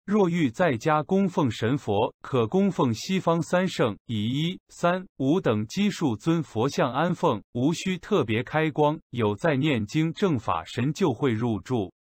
若欲在家供奉神佛，可供奉西方三圣，以1、3、5等基数尊佛像安奉，无需特别开光，有在念经正法神就会入住。